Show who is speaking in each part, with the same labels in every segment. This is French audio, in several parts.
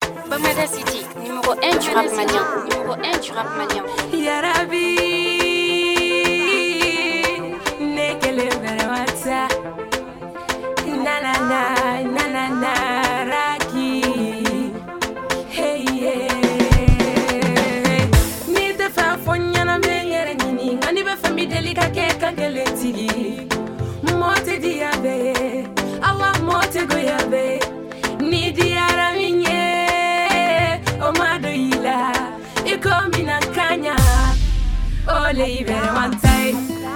Speaker 1: Bamada City, numéro 1 du rap malien. Numéro 1 du rap malien.
Speaker 2: Yarabi, nekele verwata. Na na na na na na raki. Hey yeah. Ni te fa fonya na meyere nini. Ngani be fami delika ke kangele tigi. Mote diabe, awa mote goyabe. Ni diara minye, o madoila. Ikomi na kanya, ole ibere mantai.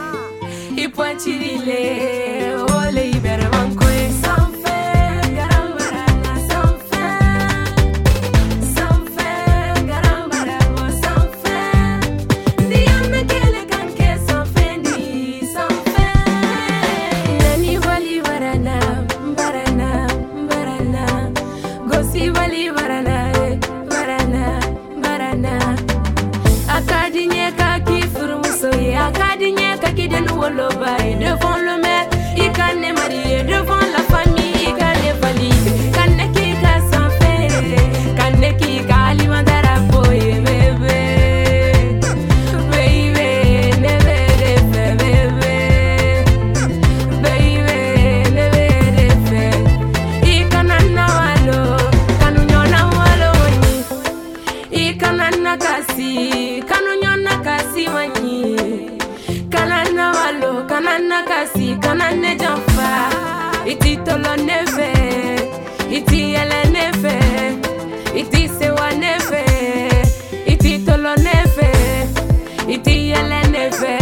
Speaker 2: Ipuanchirile, ole ibere mankwe. Sanfe, garambarana, sanfe. Sanfe, garambarana, sanfe. Diame kele kanke sanfe ni, sanfe. Nani wali barana, barana, barana. Gosi wali barana, barana, barana. Akadinye kaki furumusoye, akadinye kaki denu woloba. Devant le maire, il can marier, devant la famille, il can valider. Kaneki ka sanfe, kaneki ka alimandara boye bébé, baby, never de bébé, baby, never de. Ikanana walo, kanunyona walo wani, ikanana kasi, kanunyona kasi wani. Kanana walo, kanana kasi, kanane jamfa. Iti tolo neve, iti ele neve, iti sewa neve, iti tolo neve, iti ele neve,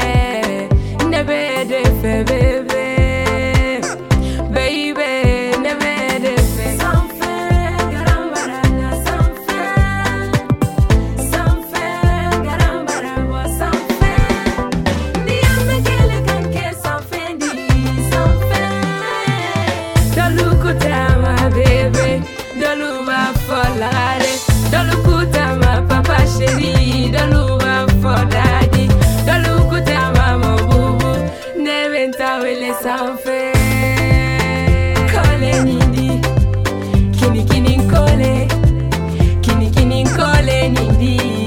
Speaker 2: neve de fe bebe, baby, neve de fe. Sanfe, garambarana, sanfe, sanfe, garambarana, sanfe. Diame kele kanke sanfe di, sanfe. Dolu kutama bebe, dolu ba folare, dolu kutama papa chéri, dolu ba foladi, dolu kutama mo bubu, neventa wele sanfe. Kole nindi, kini kini kole, kini kini kole nindi.